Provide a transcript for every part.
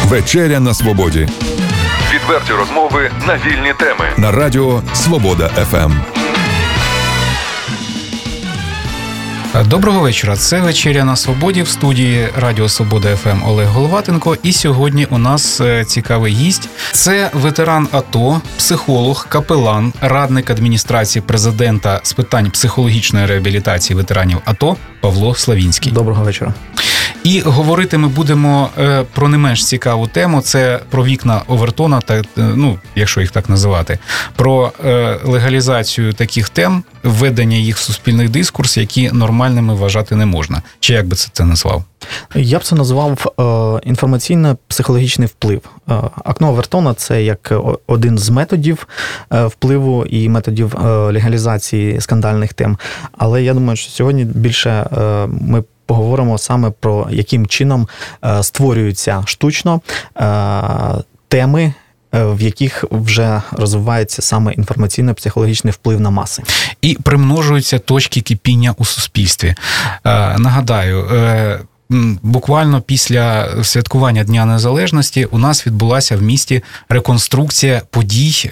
Вечеря на свободі. Відверті розмови на вільні теми. На радіо Свобода ФМ. Доброго вечора. Це «Вечеря на свободі» в студії Радіо Свобода ФМ Олег Головатенко. І сьогодні у нас цікавий гість. Це ветеран АТО, психолог, капелан, радник адміністрації президента з питань психологічної реабілітації ветеранів АТО Павло Славінський. Доброго вечора. І говорити ми будемо про не менш цікаву тему. Це про вікна Овертона, якщо їх так називати, про легалізацію таких тем, введення їх в суспільний дискурс, які нормальними вважати не можна. Чи як би це назвав? Я б це назвав інформаційно-психологічний вплив. Окно Овертона – це як один з методів впливу і методів легалізації скандальних тем. Але я думаю, що сьогодні більше ми поговоримо саме про яким чином створюються штучно теми, в яких вже розвивається саме інформаційно-психологічний вплив на маси. І примножуються точки кипіння у суспільстві. Нагадаю, буквально після святкування Дня Незалежності у нас відбулася в місті реконструкція подій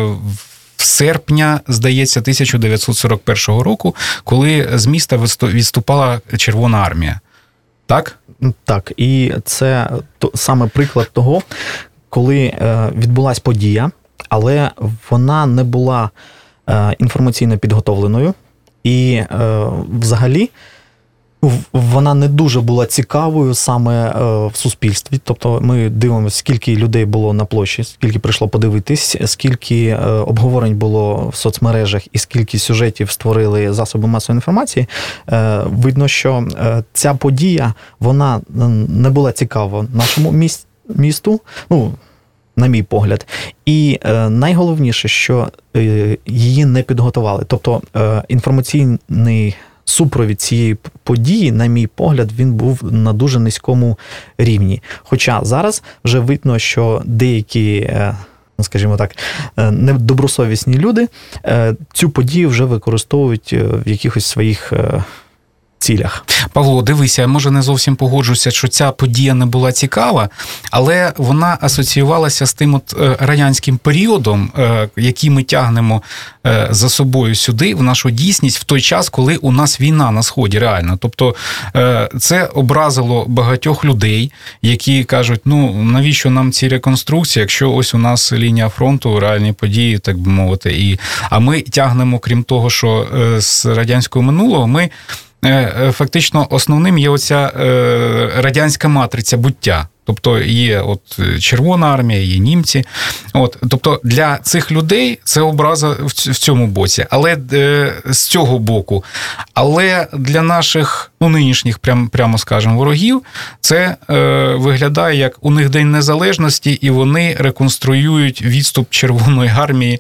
в серпня, здається, 1941 року, коли з міста відступала Червона армія. Так? Так, і це саме приклад того, коли відбулася подія, але вона не була інформаційно підготовленою, і взагалі вона не дуже була цікавою саме в суспільстві. Тобто ми дивимося, скільки людей було на площі, скільки прийшло подивитись, скільки обговорень було в соцмережах і скільки сюжетів створили засоби масової інформації. Видно, що ця подія, вона не була цікава нашому місту, на мій погляд. І найголовніше, що її не підготували. Тобто інформаційний супровід цієї події, на мій погляд, він був на дуже низькому рівні. Хоча зараз вже видно, що деякі, скажімо так, недобросовісні люди цю подію вже використовують в якихось своїх цілях. Павло, дивися, я, може, не зовсім погоджуся, що ця подія не була цікава, але вона асоціювалася з тим радянським періодом, який ми тягнемо за собою сюди, в нашу дійсність, в той час, коли у нас війна на Сході, реально. Тобто це образило багатьох людей, які кажуть, навіщо нам ці реконструкції, якщо ось у нас лінія фронту, реальні події, так би мовити. А ми тягнемо, крім того, що з радянського минулого, ми фактично основним є оця радянська матриця буття. Тобто є Червона армія, є німці. Тобто для цих людей це образа в цьому боці, але з цього боку. Але для наших нинішніх, прямо скажемо, ворогів, це виглядає як у них День Незалежності, і вони реконструюють відступ Червоної армії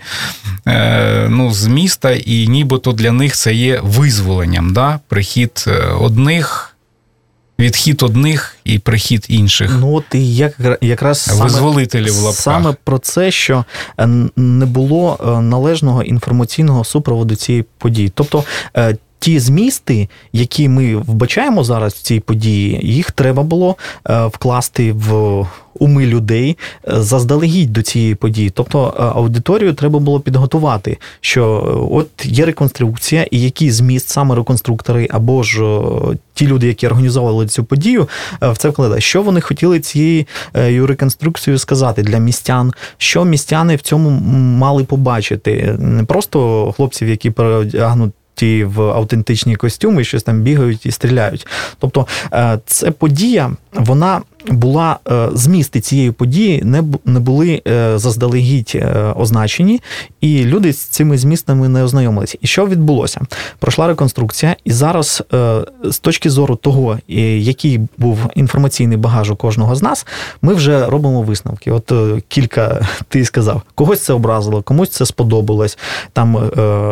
з міста, і нібито для них це є визволенням, да? Прихід одних, відхід одних і прихід інших. І якраз саме про це, що не було належного інформаційного супроводу цієї події. Тобто ті змісти, які ми вбачаємо зараз в цій події, їх треба було вкласти в уми людей заздалегідь до цієї події. Тобто аудиторію треба було підготувати, що є реконструкція, і який зміст саме реконструктори або ж ті люди, які організовували цю подію, в це вкладають. Що вони хотіли цією реконструкцією сказати для містян? Що містяни в цьому мали побачити? Не просто хлопців, які переодягнуть в автентичні костюми, щось там бігають і стріляють. Тобто ця подія, вона була, змісти цієї події не були заздалегідь означені, і люди з цими змістами не ознайомилися. І що відбулося? Пройшла реконструкція, і зараз з точки зору того, який був інформаційний багаж у кожного з нас, ми вже робимо висновки. Кілька, ти сказав, когось це образило, комусь це сподобалось, там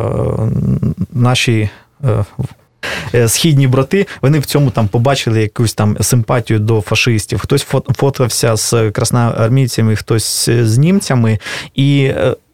наші східні брати, вони в цьому там побачили якусь там симпатію до фашистів. Хтось фотався з красноармійцями, хтось з німцями. І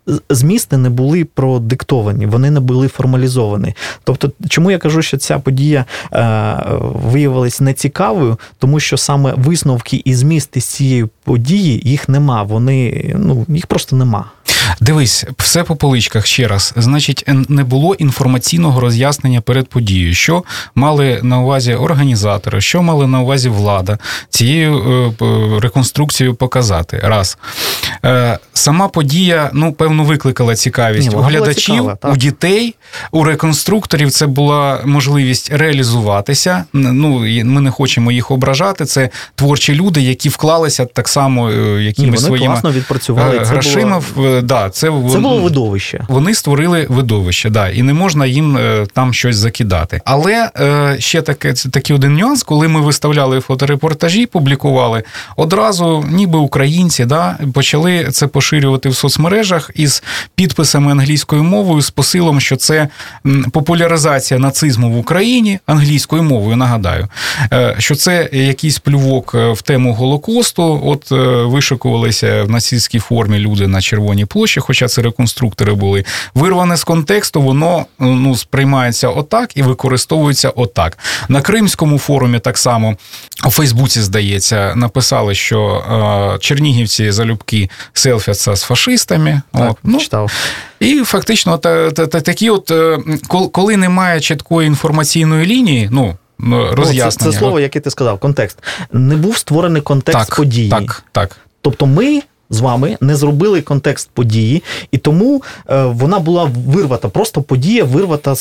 змісти не були продиктовані, вони не були формалізовані. Тобто, чому я кажу, що ця подія виявилась нецікавою? Тому що саме висновки і змісти з цієї події, їх нема, їх просто нема. Дивись, все по поличках ще раз. Значить, не було інформаційного роз'яснення перед подією. Що мали на увазі організатори, що мали на увазі влада цією реконструкцією показати? Раз. Сама подія, певно, викликала цікавість у глядачів, у дітей, у реконструкторів. Це була можливість реалізуватися. Ми не хочемо їх ображати. Це творчі люди, які вклалися так само якимись своїми грошима. Це було видовище. Вони створили видовище, і не можна їм там щось закидати. Але ще такий один нюанс, коли ми виставляли фоторепортажі, публікували, одразу ніби українці почали це поширювати в соцмережах із підписами англійською мовою, з посилом, що це популяризація нацизму в Україні, англійською мовою, нагадаю, що це якийсь плювок в тему Голокосту, вишикувалися в нацистській формі люди на Червоній площі, хоча це реконструктори були. Вирване з контексту, воно сприймається отак і використовується отак. На Кримському форумі так само, у Фейсбуці, здається, написали, що чернігівці залюбки селфяться з фашистами. Читав. І фактично такі коли немає чіткої інформаційної лінії, роз'яснення. Це слово, яке ти сказав, контекст. Не був створений контекст події. Так. Тобто ми з вами не зробили контекст події, і тому вона була вирвата. Просто подія вирвата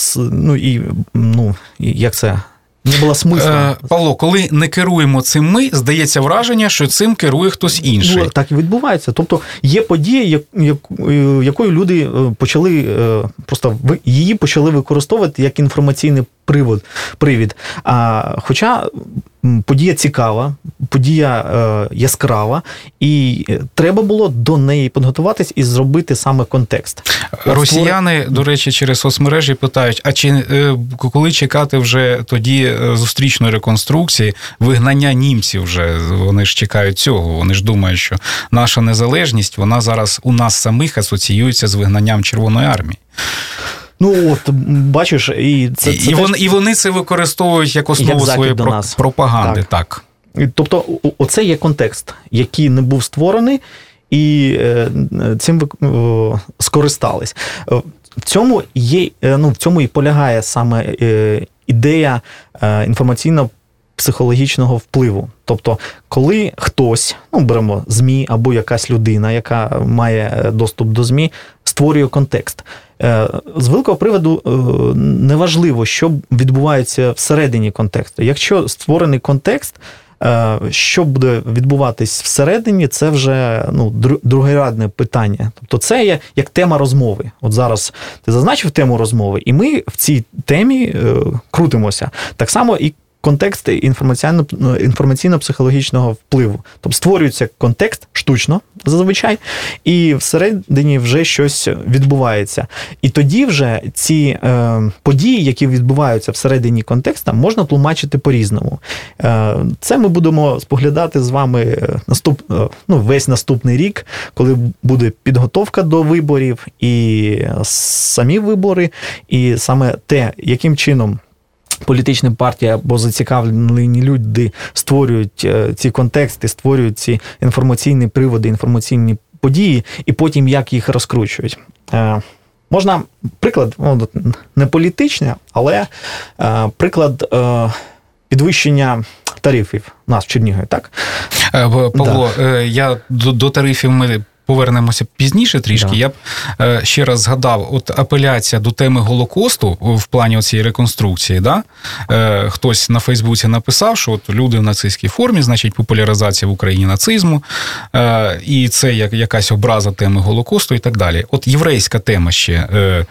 як це? Не було смислу. Павло, коли не керуємо цим ми, здається враження, що цим керує хтось інший. Так і відбувається. Тобто є подія, якою люди почали, просто її почали використовувати як інформаційний привід. Хоча подія цікава, подія яскрава, і треба було до неї підготуватись і зробити саме контекст. Росіяни, до речі, через соцмережі питають, а коли чекати вже тоді зустрічної реконструкції, вигнання німців вже, вони ж чекають цього, вони ж думають, що наша незалежність, вона зараз у нас самих асоціюється з вигнанням Червоної армії. Бачиш, і вони це використовують як основу своєї пропаганди. Так. Тобто, оце є контекст, який не був створений, і цим скористались. В цьому і полягає саме ідея інформаційно-психологічного впливу. Тобто, коли хтось, беремо ЗМІ або якась людина, яка має доступ до ЗМІ, створює контекст. З великого приводу неважливо, що відбувається всередині контексту. Якщо створений контекст, що буде відбуватись всередині, це вже другорядне питання. Тобто це є як тема розмови. От зараз ти зазначив тему розмови, і ми в цій темі крутимося. Так само і контекст інформаційно-психологічного впливу. Тобто створюється контекст штучно, зазвичай, і всередині вже щось відбувається. І тоді вже ці події, які відбуваються всередині контексту, можна тлумачити по-різному. Це ми будемо споглядати з вами весь наступний рік, коли буде підготовка до виборів, і самі вибори, і саме те, яким чином політичні партії або зацікавлені люди створюють ці контексти, створюють ці інформаційні приводи, інформаційні події, і потім як їх розкручують. Можна, приклад, не політичний, але приклад підвищення тарифів у нас в Чернігові, так? Павло, я до тарифів ми повернемося пізніше трішки. Я б ще раз згадав, апеляція до теми Голокосту в плані цієї реконструкції, хтось на Фейсбуці написав, що люди в нацистській формі, значить популяризація в Україні нацизму, і це якась образа теми Голокосту і так далі. Єврейська тема ще,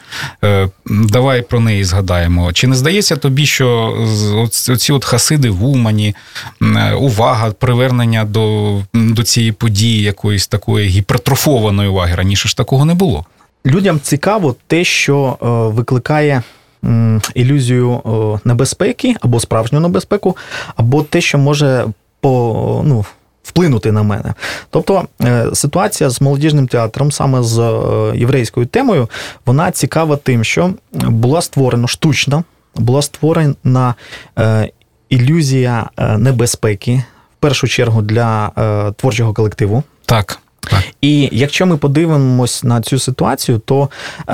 давай про неї згадаємо. Чи не здається тобі, що оці хасиди в Умані, увага, привернення до цієї події якоїсь такої гіпертрофованої уваги, раніше ж такого не було? Людям цікаво те, що викликає ілюзію небезпеки, або справжню небезпеку, або те, що може вплинути на мене. Тобто ситуація з молодіжним театром, саме з єврейською темою, вона цікава тим, що була створена штучно, була створена ілюзія небезпеки, в першу чергу для творчого колективу. Так. І якщо ми подивимось на цю ситуацію, то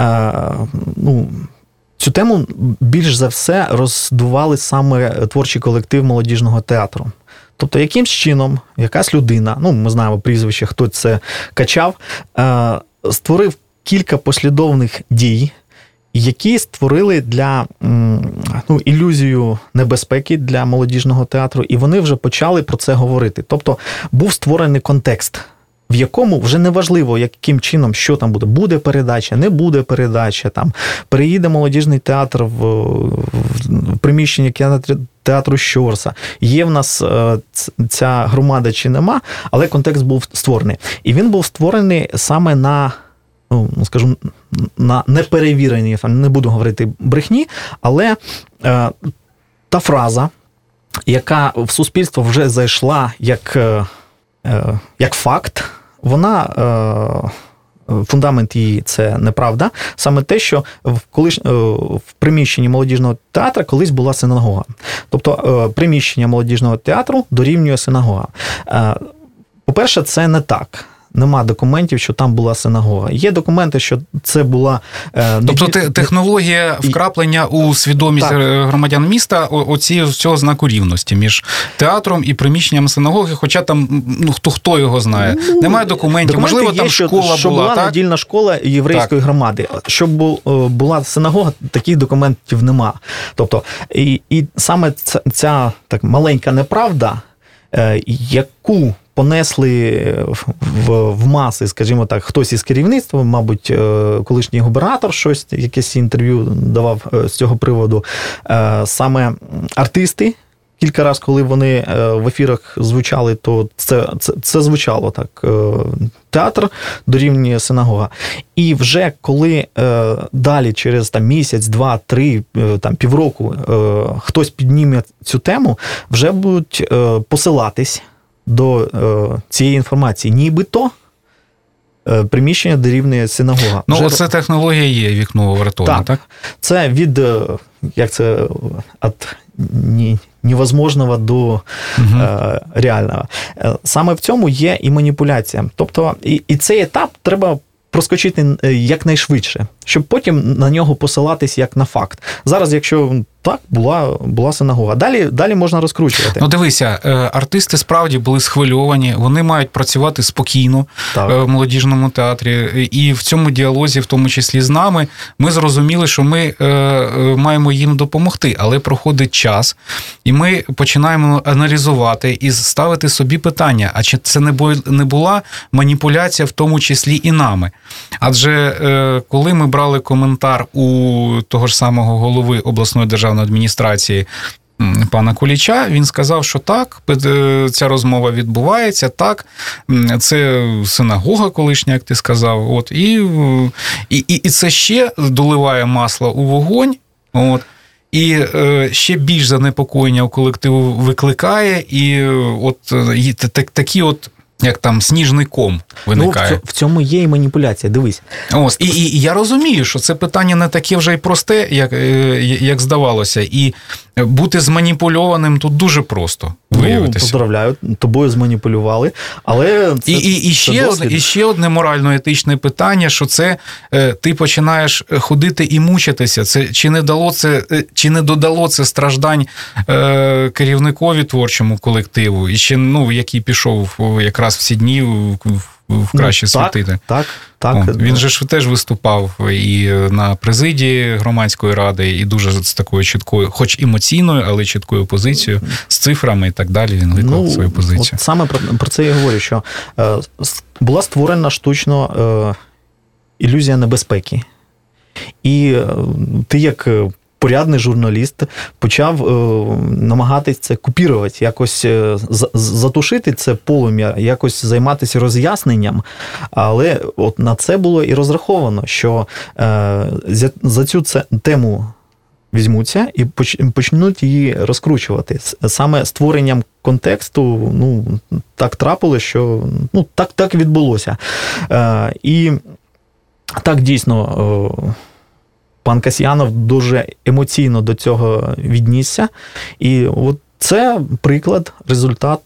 цю тему більш за все роздували саме творчий колектив молодіжного театру. Тобто, якимсь чином якась людина, ми знаємо прізвище, хто це качав, створив кілька послідовних дій, які створили для ілюзію небезпеки для молодіжного театру, і вони вже почали про це говорити. Тобто, був створений контекст, в якому вже не важливо, яким чином, що там буде. Буде передача, не буде передача, там переїде молодіжний театр в приміщення театру Щорса. Є в нас ця громада чи нема, але контекст був створений. І він був створений саме на неперевіреній, не буду говорити брехні, але та фраза, яка в суспільство вже зайшла як факт, вона, фундамент її – це неправда. Саме те, що в приміщенні молодіжного театру колись була синагога. Тобто приміщення молодіжного театру дорівнює синагога. По-перше, це не так. Нема документів, що там була синагога. Є документи, що це була... Тобто технологія вкраплення у свідомість громадян міста цього знаку рівності між театром і приміщенням синагоги, хоча там, хто його знає. Немає документів. Можливо, там школа що була так? Недільна школа єврейської громади. Щоб була синагога, таких документів нема. Тобто, і саме ця так маленька неправда, яку понесли в маси, скажімо так, хтось із керівництва, мабуть, колишній губернатор якесь інтерв'ю давав з цього приводу. Саме артисти, кілька разів, коли вони в ефірах звучали, то це звучало так. Театр дорівнює синагога. І вже коли далі, через місяць, 2, 3, півроку, хтось підніме цю тему, вже будуть посилатись до цієї інформації. Нібито приміщення дорівнює синагога. Оце технологія є вікно вартовне, так? Це від, від невозможного до реального. Саме в цьому є і маніпуляція. Тобто, і цей етап треба проскочити якнайшвидше, щоб потім на нього посилатись як на факт. Зараз, якщо так, була синагога. Далі можна розкручувати. Дивися, артисти справді були схвильовані, вони мають працювати спокійно в молодіжному театрі. І в цьому діалозі, в тому числі з нами, ми зрозуміли, що ми маємо їм допомогти. Але проходить час, і ми починаємо аналізувати і ставити собі питання, а чи це не була маніпуляція в тому числі і нами? Адже коли ми брали коментар у того ж самого голови обласної державної адміністрації пана Куліча, він сказав, що так, ця розмова відбувається, так, це синагога колишня, як ти сказав, і це ще доливає масло у вогонь, і ще більш занепокоєння у колективу викликає, і такі як там сніжний ком виникає. В цьому є і маніпуляція, дивись. І я розумію, що це питання не таке вже й просте, як здавалося, і бути зманіпульованим тут дуже просто виявитися. Поздравляю, тобою зманіпулювали, але це і ще одне морально-етичне питання, що це ти починаєш ходити і мучитися. Це чи не додало це страждань керівникові творчому колективу, і ще, який пішов якраз в ці дні в краще світити. Так. Він же ж теж виступав і на президії громадської ради, і дуже з такою чіткою, хоч емоційною, але чіткою позицією, з цифрами і так далі, він виклав свою позицію. Саме про це я говорю, що була створена штучно ілюзія небезпеки. І ти як порядний журналіст почав намагатись це купірувати, якось затушити це полум'я, якось займатися роз'ясненням, але на це було і розраховано, що за цю тему візьмуться і почнуть її розкручувати. Саме створенням контексту, так трапилось, що, так відбулося. І так, дійсно, пан Касьянов дуже емоційно до цього віднісся. І от це приклад, результат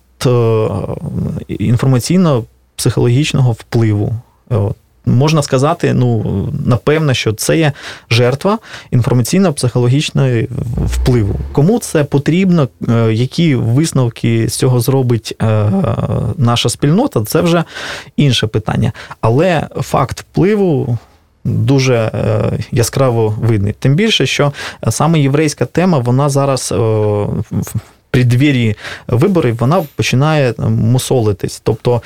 інформаційно-психологічного впливу. Можна сказати, напевно, що це є жертва інформаційно-психологічного впливу. Кому це потрібно, які висновки з цього зробить наша спільнота, це вже інше питання. Але факт впливу дуже яскраво видний. Тим більше, що саме єврейська тема, вона зараз в преддвір'ї виборів, вона починає мусолитись. Тобто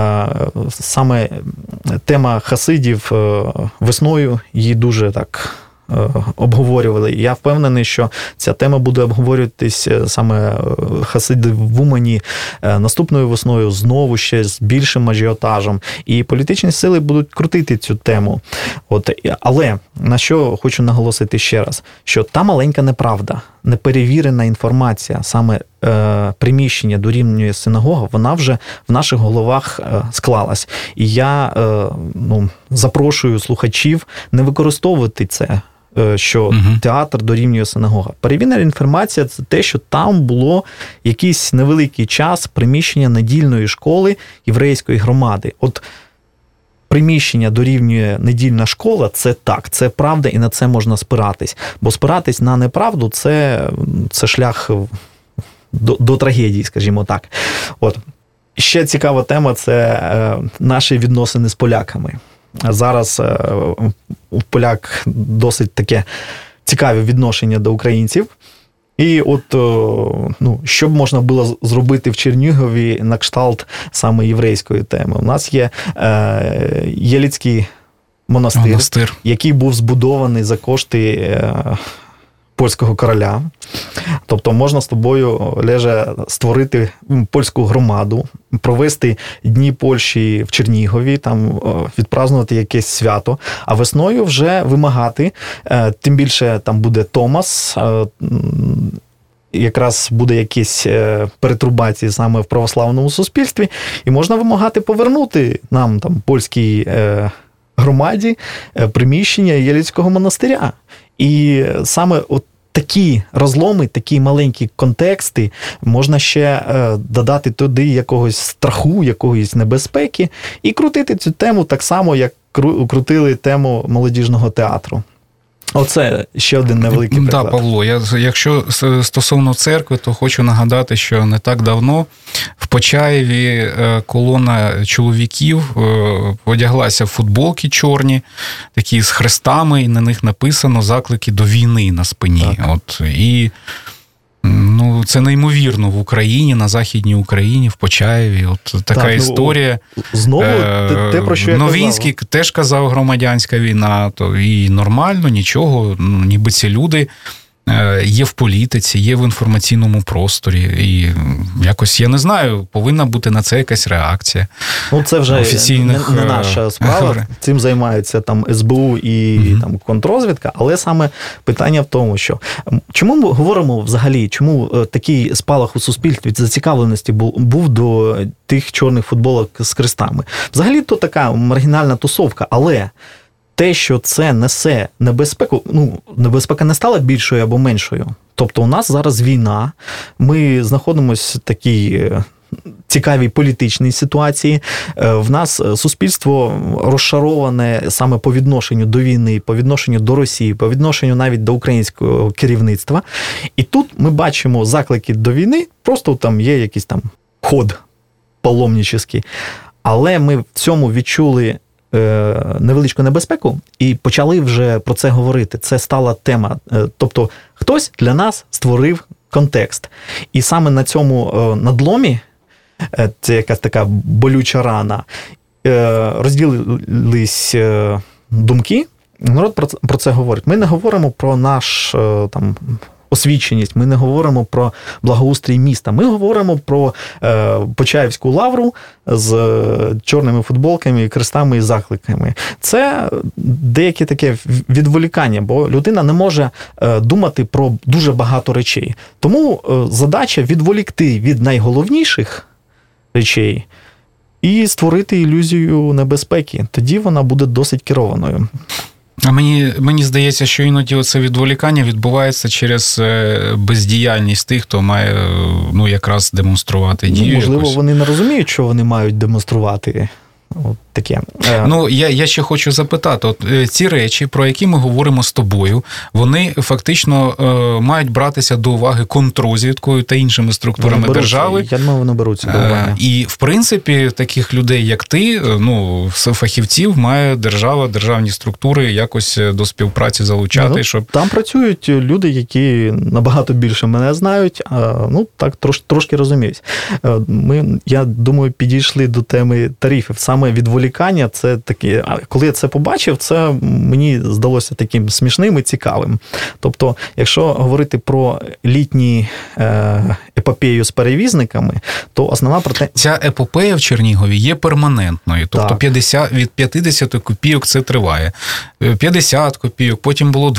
саме тема хасидів весною її дуже так обговорювали. Я впевнений, що ця тема буде обговорюватись саме хасиди в Умані наступною весною знову ще з більшим ажіотажем. І політичні сили будуть крутити цю тему. Але на що хочу наголосити ще раз, що та маленька неправда, неперевірена інформація, саме приміщення дорівнює синагога, вона вже в наших головах склалась. І я запрошую слухачів не використовувати це, що театр дорівнює синагога. Перевірена інформація – це те, що там було якийсь невеликий час приміщення недільної школи єврейської громади. Приміщення дорівнює недільна школа – це так, це правда, і на це можна спиратись. Бо спиратись на неправду – це шлях до трагедії, скажімо так. Ще цікава тема – це наші відносини з поляками. Зараз у поляк досить таке цікаве відношення до українців. І що б можна було зробити в Чернігові на кшталт саме єврейської теми? У нас є Єліцький монастир, який був збудований за кошти польського короля. Тобто можна з тобою, Олеже, створити польську громаду, провести Дні Польщі в Чернігові, там відпразнувати якесь свято, а весною вже вимагати, тим більше там буде Томас, якраз буде якісь перетрубації саме в православному суспільстві, і можна вимагати повернути нам, там, польській громаді приміщення Єліцького монастиря. І саме такі розломи, такі маленькі контексти можна ще додати туди якогось страху, якоїсь небезпеки і крутити цю тему так само, як крутили тему молодіжного театру. Оце ще один невеликий приклад. Так, Павло, якщо стосовно церкви, то хочу нагадати, що не так давно в Почаєві колона чоловіків одяглася в футболки чорні, такі з хрестами, і на них написано «Заклики до війни» на спині. І це неймовірно в Україні, на Західній Україні, в Почаєві. Така історія. Знову те, про що я Новінський теж казав «Громадянська війна», то і нормально, нічого, ніби ці люди є в політиці, є в інформаційному просторі. І якось, я не знаю, повинна бути на це якась реакція. Це вже офіційних... не наша справа. Цим займаються там СБУ і там контррозвідка, але саме питання в тому, що чому ми говоримо взагалі, чому такий спалах у суспільстві зацікавленості був до тих чорних футболок з хрестами? Взагалі то така маргінальна тусовка, але те, що це несе небезпеку, небезпека не стала більшою або меншою. Тобто у нас зараз війна, ми знаходимося в такій цікавій політичній ситуації. В нас суспільство розшароване саме по відношенню до війни, по відношенню до Росії, по відношенню навіть до українського керівництва. І тут ми бачимо заклики до війни, просто там є якийсь там ход паломничий. Але ми в цьому відчули невеличку небезпеку і почали вже про це говорити. Це стала тема. Тобто хтось для нас створив контекст. І саме на цьому надломі, це якась така болюча рана, розділились думки, народ про це говорить. Ми не говоримо про наш там освіченість, ми не говоримо про благоустрій міста. Ми говоримо про Почаївську лавру з чорними футболками, крестами і закликами. Це деяке таке відволікання, бо людина не може думати про дуже багато речей. Тому задача відволікти від найголовніших речей і створити ілюзію небезпеки. Тоді вона буде досить керованою. А мені здається, що іноді оце відволікання відбувається через бездіяльність тих, хто має якраз демонструвати дію. Можливо, якусь. вони не розуміють, що вони мають демонструвати. От таке. Я ще хочу запитати, от ці речі, про які ми говоримо з тобою, вони фактично мають братися до уваги контррозвідкою та іншими структурами держави. Я думаю, вони беруться до уваги. І, в принципі, таких людей, як ти, фахівців, має держава, державні структури якось до співпраці залучати, щоб... Там працюють люди, які набагато більше мене знають, так трошки розуміють. Я думаю, підійшли до теми тарифів. Саме відволікання, це таке, коли я це побачив, це мені здалося таким смішним і цікавим. Тобто, якщо говорити про літню епопею з перевізниками, то основна Ця епопея в Чернігові є перманентною. Тобто від 50 копійок це триває. 50 копійок, потім було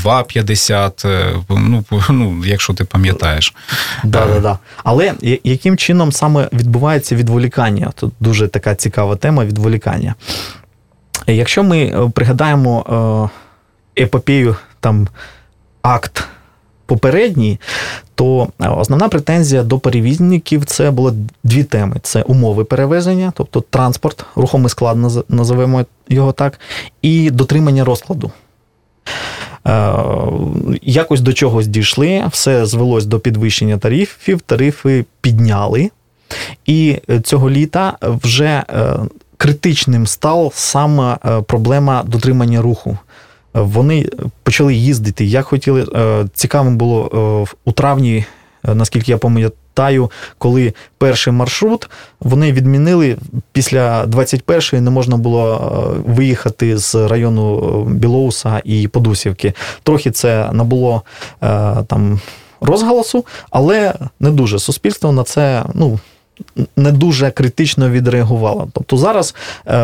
2,50, якщо ти пам'ятаєш. Да. Але яким чином саме відбувається відволікання? Тут дуже така цікава тема відволікання. Якщо ми пригадаємо епопею, акт попередній, то основна претензія до перевізників – це було дві теми. Це умови перевезення, тобто транспорт, рухомий склад, називаємо його так, і дотримання розкладу. Якось до чогось дійшли, все звелось до підвищення тарифів, тарифи підняли, і цього літа вже критичним стала саме проблема дотримання руху. Вони почали їздити, як хотіли. Цікавим було у травні, наскільки я пам'ятаю, коли перший маршрут вони відмінили, після 21-ї не можна було виїхати з району Білоуса і Подусівки. Трохи це набуло розголосу, але не дуже. Суспільство на це, не дуже критично відреагувало. Тобто зараз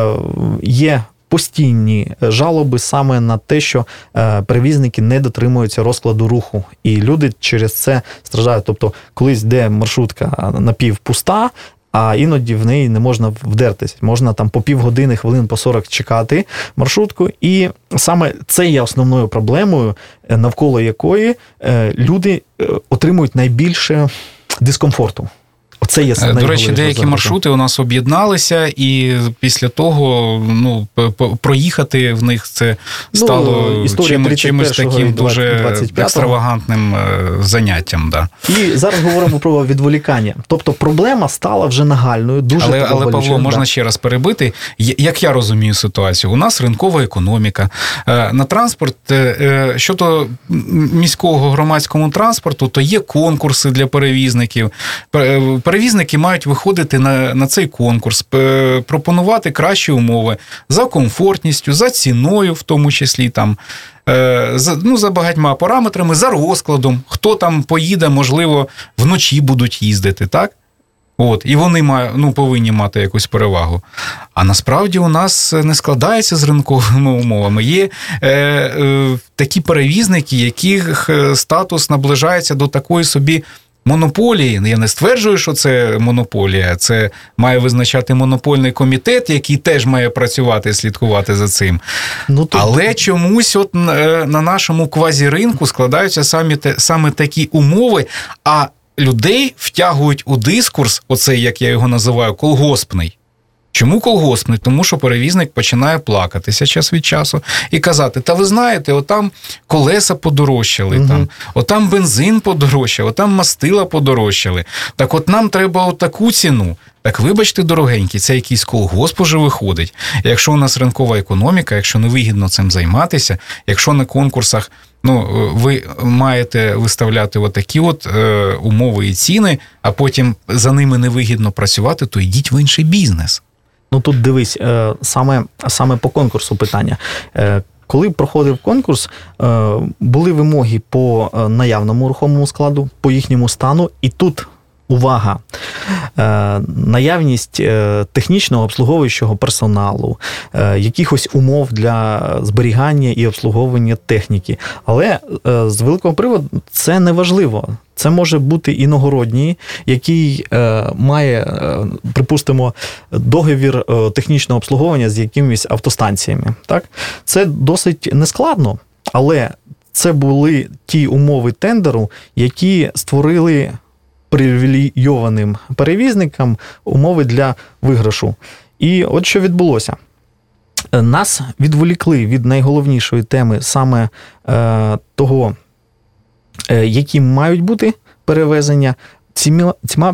є постійні жалоби саме на те, що перевізники не дотримуються розкладу руху. І люди через це страждають. Тобто колись йде маршрутка напівпуста, а іноді в неї не можна вдертися. Можна по півгодини, хвилин по 40 чекати маршрутку. І саме це є основною проблемою, навколо якої люди отримують найбільше дискомфорту. Оце є До речі, деякі маршрути у нас об'єдналися, і після того проїхати в них це стало чимось таким дуже екстравагантним заняттям. Да. І зараз говоримо про відволікання. Тобто проблема стала вже нагальною, дуже Але Павло, можна ще раз перебити. Як я розумію ситуацію, у нас ринкова економіка. На транспорт, щодо міського громадського транспорту, то є конкурси для перевізників. Перевізники мають виходити на цей конкурс, пропонувати кращі умови за комфортністю, за ціною, в тому числі за багатьма параметрами, за розкладом, хто там поїде, можливо, вночі будуть їздити, так? І вони повинні мати якусь перевагу. А насправді у нас не складається з ринковими умовами. Є такі перевізники, яких статус наближається до такої собі монополії. Я не стверджую, що це монополія. Це має визначати монопольний комітет, який теж має працювати і слідкувати за цим. Але чомусь на нашому квазіринку складаються саме такі умови, а людей втягують у дискурс, оцей, як я його називаю, колгоспний. Чому колгоспний? Тому що перевізник починає плакатися час від часу і казати, та ви знаєте, отам колеса подорожчали, отам бензин подорожчав, отам мастила подорожчали. Так от нам треба отаку ціну. Так вибачте, дорогенькі, це якийсь колгосп уже виходить. Якщо у нас ринкова економіка, якщо не вигідно цим займатися, якщо на конкурсах ви маєте виставляти отакі умови і ціни, а потім за ними невигідно працювати, то йдіть в інший бізнес. Тут дивись, саме по конкурсу питання. коли проходив конкурс, були вимоги по наявному рухомому складу, по їхньому стану, і тут увага, наявність технічного обслуговуючого персоналу, якихось умов для зберігання і обслуговування техніки. Але з великого приводу це не важливо. Це може бути іногородній, який має, припустимо, договір технічного обслуговування з якимись автостанціями. Так? Це досить нескладно, але це були ті умови тендеру, які створили привілейованим перевізникам умови для виграшу. І от що відбулося. Нас відволікли від найголовнішої теми саме того, які мають бути перевезення, цими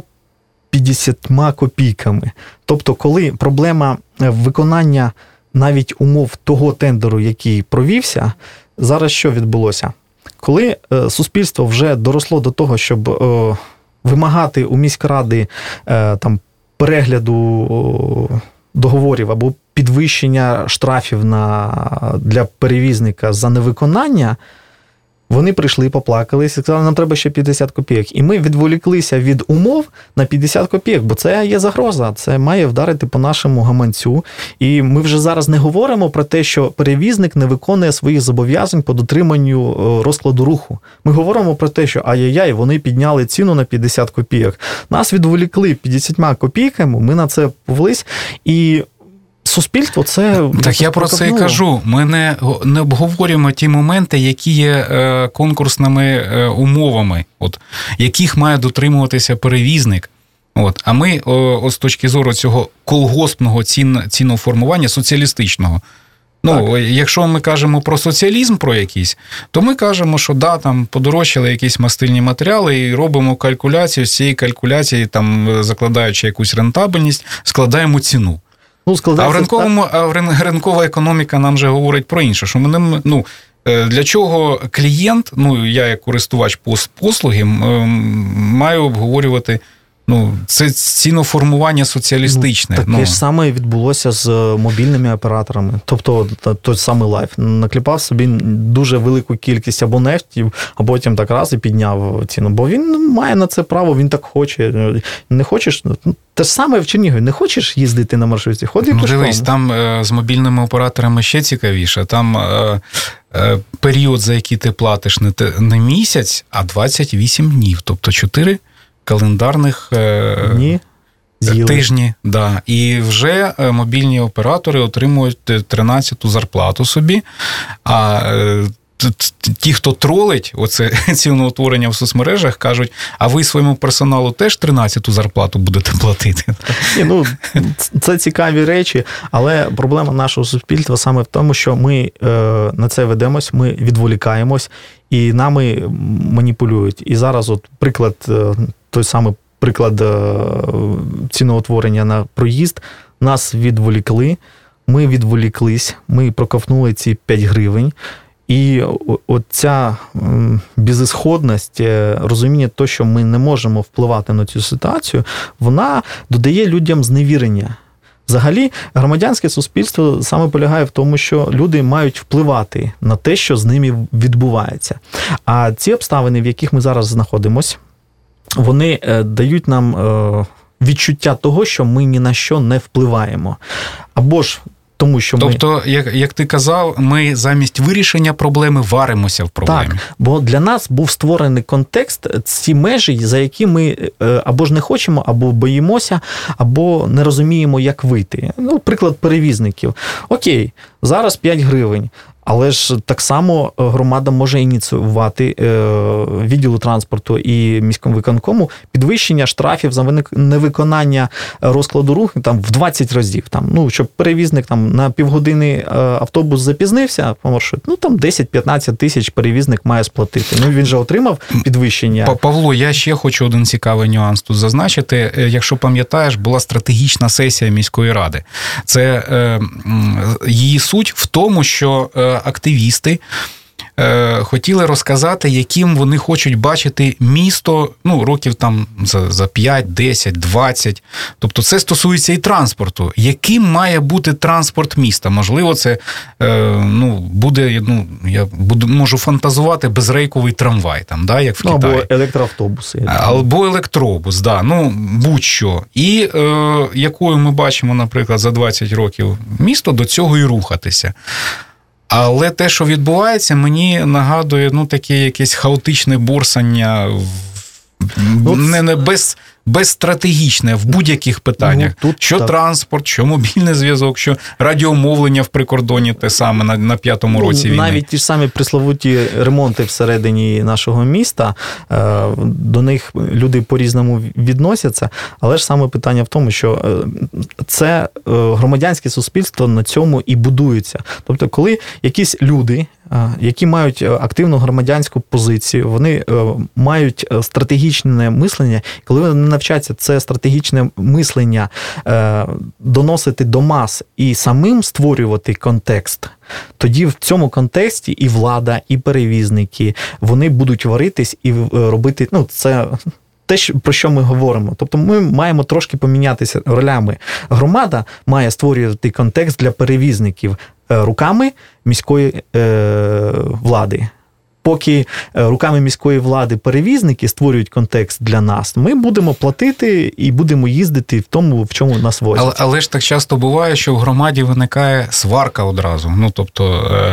50 копійками. Тобто, коли проблема виконання навіть умов того тендеру, який провівся, зараз що відбулося? Коли суспільство вже доросло до того, щоб вимагати у міськради там перегляду договорів або підвищення штрафів для перевізника за невиконання, вони прийшли, поплакались і сказали, нам треба ще 50 копійок. І ми відволіклися від умов на 50 копійок, бо це є загроза, це має вдарити по нашому гаманцю. І ми вже зараз не говоримо про те, що перевізник не виконує своїх зобов'язань по дотриманню розкладу руху. Ми говоримо про те, що ай-яй-яй, вони підняли ціну на 50 копійок. Нас відволікли 50 копійками, ми на це повелись, і суспільство це... Так я про це і кажу. Ми не обговорюємо ті моменти, які є конкурсними умовами, яких має дотримуватися перевізник. А ми з точки зору цього колгоспного ціноформування, соціалістичного. Якщо ми кажемо про соціалізм, про якийсь, то ми кажемо, що там подорожчали якісь мастильні матеріали і робимо калькуляцію, з цієї калькуляції, закладаючи якусь рентабельність, складаємо ціну. Ринкова економіка нам же говорить про інше, що для чого клієнт, я як користувач послуги, маю обговорювати це ціноформування соціалістичне. Таке ж саме відбулося з мобільними операторами. Тобто, той самий Лайф накліпав собі дуже велику кількість абонентів, а потім так раз і підняв ціну. Бо він має на це право, він так хоче. Не хочеш? Те ж саме в Чернігові. Не хочеш їздити на маршрутці? Ходи пішком. Дивись, там з мобільними операторами ще цікавіше. Там період, за який ти платиш не місяць, а 28 днів. Тобто 4 календарних тижні. Да. І вже мобільні оператори отримують 13-ту зарплату собі, а ті, хто тролить оце ціноутворення в соцмережах, кажуть, а ви своєму персоналу теж 13-ту зарплату будете платити? Це цікаві речі, але проблема нашого суспільства саме в тому, що ми на це ведемось, ми відволікаємось і нами маніпулюють. І зараз той самий приклад ціноутворення на проїзд, нас відволікли, ми відволіклись, ми проковтнули ці 5 гривень, і оця безісходність, розуміння того, що ми не можемо впливати на цю ситуацію, вона додає людям зневірення. Взагалі, громадянське суспільство саме полягає в тому, що люди мають впливати на те, що з ними відбувається. А ці обставини, в яких ми зараз знаходимося, вони дають нам відчуття того, що ми ні на що не впливаємо. Або ж тому, що як ти казав, ми замість вирішення проблеми варимося в проблемі. Так, бо для нас був створений контекст, ці межі, за які ми або ж не хочемо, або боїмося, або не розуміємо, як вийти. Приклад перевізників. Окей, зараз 5 гривень. Але ж так само громада може ініціювати відділу транспорту і міському виконкому підвищення штрафів за невиконання розкладу руху в 20 разів. Щоб перевізник на півгодини автобус запізнився по маршруту, 10-15 тисяч перевізник має сплатити. Він же отримав підвищення. Павло, я ще хочу один цікавий нюанс тут зазначити. Якщо пам'ятаєш, була стратегічна сесія міської ради. Це її суть в тому, що активісти хотіли розказати, яким вони хочуть бачити місто, років там за 5, 10, 20. Тобто це стосується і транспорту. Яким має бути транспорт міста? Можливо, це буде, я можу фантазувати, безрейковий трамвай, там, да, як в Китаї. Або електроавтобуси. Або електробус, да, будь-що. І якою ми бачимо, наприклад, за 20 років місто, до цього і рухатися. Але те, що відбувається, мені нагадує таке якесь хаотичне борсання безстратегічне в будь-яких питаннях. Що так. Транспорт, що мобільний зв'язок, що радіомовлення в прикордоні те саме на 5-му році війни. Навіть ті ж самі присловуті ремонти всередині нашого міста, до них люди по-різному відносяться, але ж саме питання в тому, що це громадянське суспільство на цьому і будується. Тобто, коли якісь люди, які мають активну громадянську позицію, вони мають стратегічне мислення, коли вони навчаться це стратегічне мислення доносити до мас і самим створювати контекст, тоді в цьому контексті і влада, і перевізники, вони будуть варитись і робити, це те, про що ми говоримо. Тобто ми маємо трошки помінятися ролями. Громада має створювати контекст для перевізників руками міської влади. Поки руками міської влади перевізники створюють контекст для нас, ми будемо платити і будемо їздити в тому, в чому нас возять. Але ж так часто буває, що в громаді виникає сварка одразу. Тобто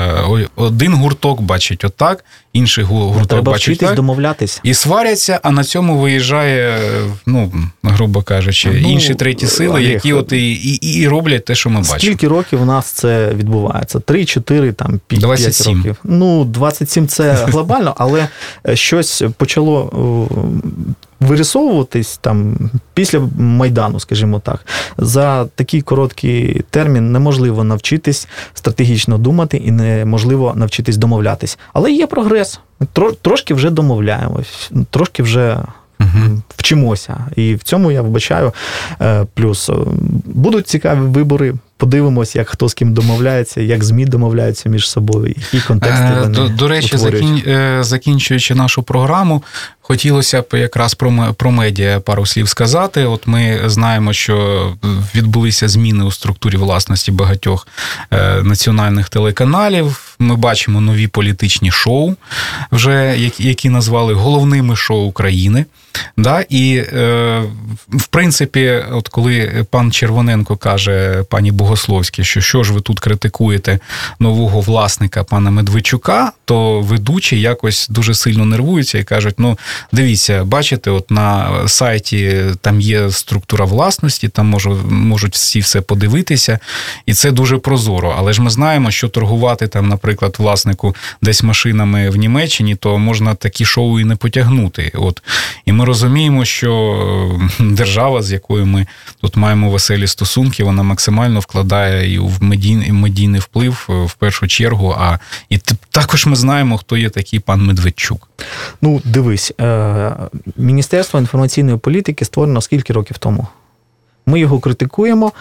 один гурток бачить отак, інший гурток бачить так. Треба вчитись домовлятись. І сваряться, а на цьому виїжджає, грубо кажучи, інші треті сили, які і роблять те, що ми бачимо. Скільки років у нас це відбувається? 3, 4, 5 27. років? 27 – це глобально, але щось почало вирисовуватись там після Майдану, скажімо так. За такий короткий термін неможливо навчитись стратегічно думати і неможливо навчитись домовлятись. Але є прогрес. Трошки вже домовляємось, трошки вже вчимося. І в цьому я вбачаю плюс. Будуть цікаві вибори, подивимось, як хто з ким домовляється, як ЗМІ домовляються між собою, які контексти вони До речі, закінчуючи нашу програму, хотілося б якраз про медіа пару слів сказати. От ми знаємо, що відбулися зміни у структурі власності багатьох національних телеканалів. Ми бачимо нові політичні шоу, вже які назвали головними шоу України. Да? І, в принципі, от коли пан Червоненко каже пані Богословській, що ж ви тут критикуєте нового власника пана Медведчука, то ведучі якось дуже сильно нервуються і кажуть, дивіться, бачите, от на сайті там є структура власності, там можуть всі все подивитися, і це дуже прозоро. Але ж ми знаємо, що торгувати там, наприклад, власнику десь машинами в Німеччині, то можна такі шоу і не потягнути. І ми розуміємо, що держава, з якою ми тут маємо веселі стосунки, вона максимально вкладає і в медійний вплив в першу чергу, і також ми знаємо, хто є такий пан Медведчук. Дивись, Міністерство інформаційної політики створено скільки років тому? Ми його критикуємо,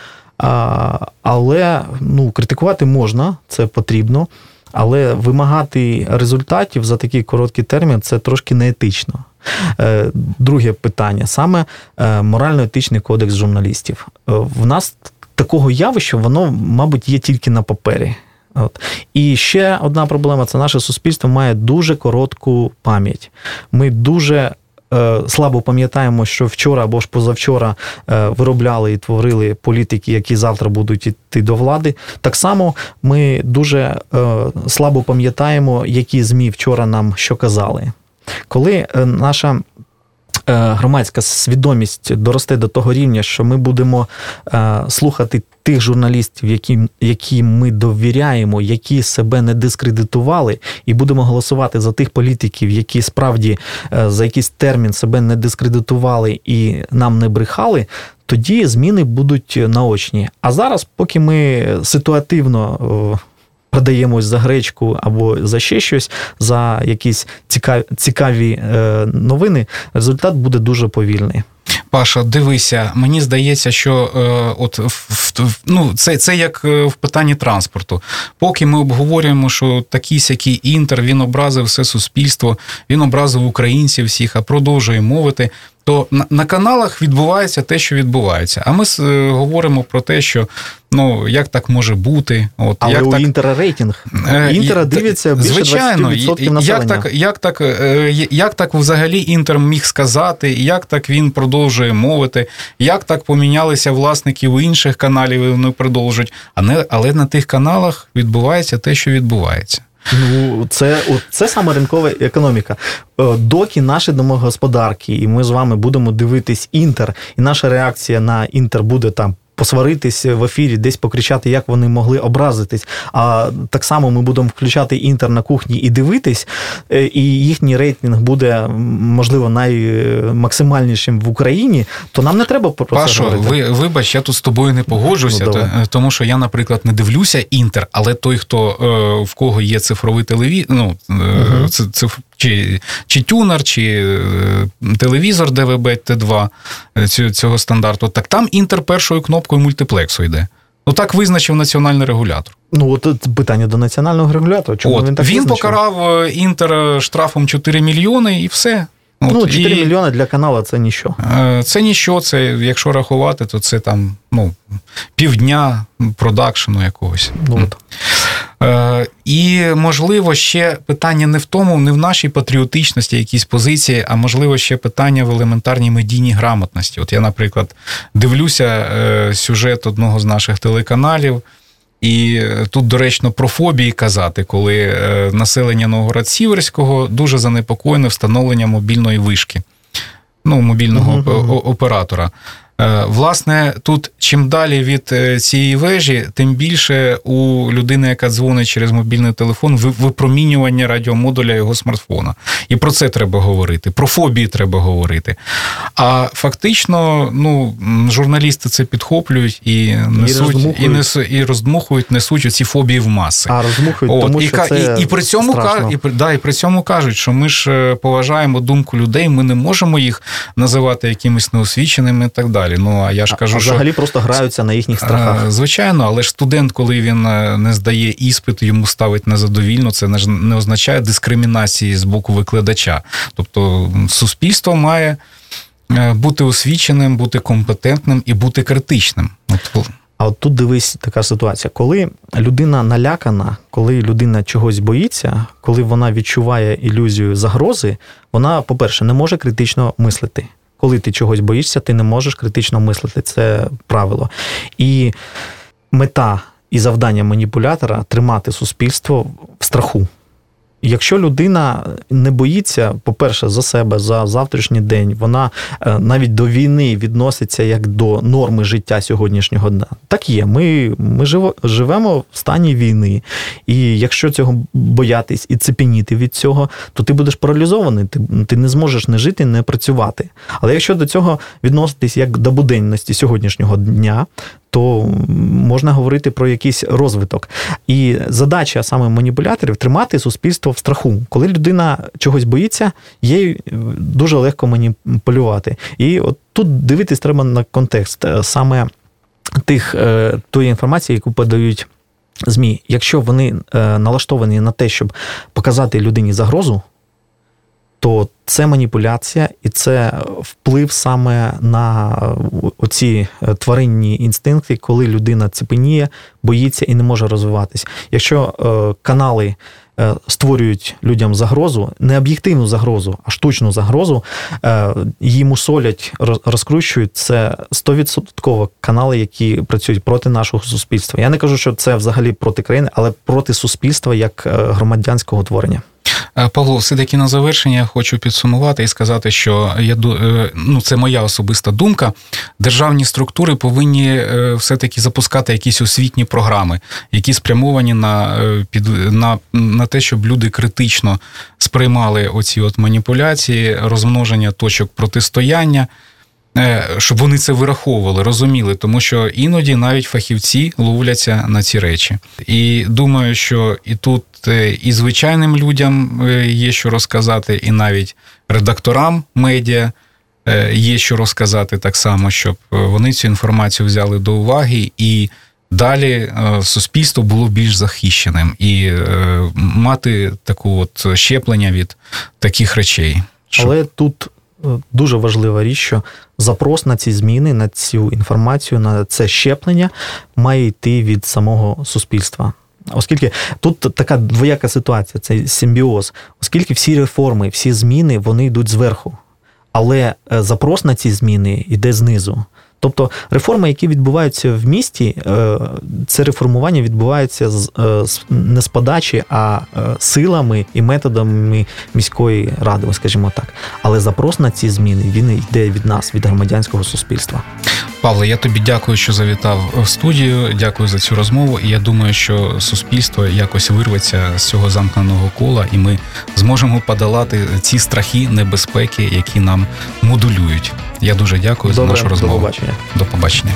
але критикувати можна, це потрібно, але вимагати результатів за такий короткий термін – це трошки неетично. Друге питання, саме морально-етичний кодекс журналістів. В нас такого явища, воно, мабуть, є тільки на папері. І ще одна проблема – це наше суспільство має дуже коротку пам'ять. Ми дуже слабо пам'ятаємо, що вчора або ж позавчора виробляли і творили політики, які завтра будуть йти до влади. Так само ми дуже слабо пам'ятаємо, які ЗМІ вчора нам що казали. Коли наша громадська свідомість доросте до того рівня, що ми будемо слухати тих журналістів, яким ми довіряємо, які себе не дискредитували, і будемо голосувати за тих політиків, які справді за якийсь термін себе не дискредитували і нам не брехали, тоді зміни будуть наочні. А зараз, поки ми ситуативно продаємось за гречку або за ще щось, за якісь цікаві новини, результат буде дуже повільний. Паша, дивися, мені здається, що це як в питанні транспорту. Поки ми обговорюємо, що такий-сякий Інтер, він образив все суспільство, він образив українців всіх, а продовжує мовити, то на каналах відбувається те, що відбувається. А ми говоримо про те, що як так може бути. Але як у Інтера рейтинг. Інтера дивиться більше 20% населення. Як так взагалі Інтер міг сказати, як так він продовжує мовити, як так помінялися власники у інших каналів і вони продовжують. Але на тих каналах відбувається те, що відбувається. Це саме ринкова економіка. Доки наші домогосподарки, і ми з вами будемо дивитись Інтер, і наша реакція на Інтер буде там посваритись в ефірі, десь покричати, як вони могли образитись, а так само ми будемо включати Інтер на кухні і дивитись, і їхній рейтинг буде, можливо, наймаксимальнішим в Україні, то нам не треба про це говорити. Пашо, вибач, я тут з тобою не погоджуся, тому що я, наприклад, не дивлюся Інтер, але той, хто в кого є цифровий телевізор, чи тюнер, чи телевізор ДВБ Т2 цього стандарту, так там Інтер першою кнопкою мультиплексу йде. Так визначив національний регулятор. От питання до національного регулятора. Чому він так визначив? Він покарав Інтер штрафом 4 мільйони і все. 4 мільйони для каналу – це ніщо. Це ніщо, це, якщо рахувати, то це там, півдня продакшену якогось. І, можливо, ще питання не в тому, не в нашій патріотичності якійсь позиції, а, можливо, ще питання в елементарній медійній грамотності. Я, наприклад, дивлюся сюжет одного з наших телеканалів, і тут доречно про фобії казати, коли населення Новгород-Сіверського дуже занепокоєне встановленням мобільної вишки, мобільного оператора. Власне, тут чим далі від цієї вежі, тим більше у людини, яка дзвонить через мобільний телефон, випромінювання радіомодуля його смартфона. І про це треба говорити, про фобії треба говорити. А фактично, журналісти це підхоплюють і несуть, і роздмухують, несуть оці фобії в маси. А роздмухують, тому що це і при цьому страшно. І при цьому кажуть, що ми ж поважаємо думку людей, ми не можемо їх називати якимись неосвіченими і так далі. А я ж кажу, взагалі просто граються на їхніх страхах. Звичайно, але ж студент, коли він не здає іспит, йому ставить незадовільно, це не означає дискримінації з боку викладача. Тобто суспільство має бути освіченим, бути компетентним і бути критичним. А от тут дивись така ситуація. Коли людина налякана, коли людина чогось боїться, коли вона відчуває ілюзію загрози, вона, по-перше, не може критично мислити. Коли ти чогось боїшся, ти не можеш критично мислити. Це правило. І мета і завдання маніпулятора – тримати суспільство в страху. Якщо людина не боїться, по-перше, за себе, за завтрашній день, вона навіть до війни відноситься як до норми життя сьогоднішнього дня. Так є, ми живемо в стані війни, і якщо цього боятись і цепеніти від цього, то ти будеш паралізований, ти не зможеш не жити, не працювати. Але якщо до цього відноситись як до буденності сьогоднішнього дня, то можна говорити про якийсь розвиток. І задача саме маніпуляторів – тримати суспільство в страху. Коли людина чогось боїться, їй дуже легко маніпулювати. І от тут дивитись треба на контекст саме тої інформації, яку подають ЗМІ. Якщо вони налаштовані на те, щоб показати людині загрозу, то це маніпуляція і це вплив саме на оці тваринні інстинкти, коли людина цепеніє, боїться і не може розвиватись. Якщо канали створюють людям загрозу, не об'єктивну загрозу, а штучну загрозу, її мусолять, розкручують, це 100% канали, які працюють проти нашого суспільства. Я не кажу, що це взагалі проти країни, але проти суспільства як громадянського творення. Павло, все-таки на завершення я хочу підсумувати і сказати, що це моя особиста думка. Державні структури повинні все-таки запускати якісь освітні програми, які спрямовані на те, щоб люди критично сприймали оці маніпуляції, розмноження точок протистояння, щоб вони це вираховували, розуміли, тому що іноді навіть фахівці ловляться на ці речі. І думаю, що і тут і звичайним людям є що розказати, і навіть редакторам медіа, є що розказати так само, щоб вони цю інформацію взяли до уваги і далі суспільство було більш захищеним і мати таку от щеплення від таких речей. Але тут дуже важлива річ, що запрос на ці зміни, на цю інформацію, на це щеплення має йти від самого суспільства. Оскільки тут така двояка ситуація, це симбіоз. Оскільки всі реформи, всі зміни, вони йдуть зверху. Але запрос на ці зміни йде знизу. Тобто реформи, які відбуваються в місті, це реформування відбувається не з подачі, а силами і методами міської ради, скажімо так. Але запрос на ці зміни, він йде від нас, від громадянського суспільства. Павле, я тобі дякую, що завітав в студію, дякую за цю розмову, і я думаю, що суспільство якось вирветься з цього замкненого кола, і ми зможемо подолати ці страхи, небезпеки, які нам модулюють. Я дуже дякую за нашу розмову. До побачення. До побачення.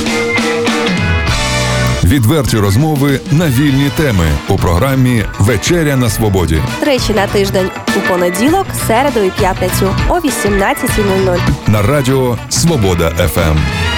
Відверті розмови на вільні теми у програмі «Вечеря на свободі». Тричі на тиждень у понеділок, середу і п'ятницю о 18:00. На радіо «Свобода ФМ».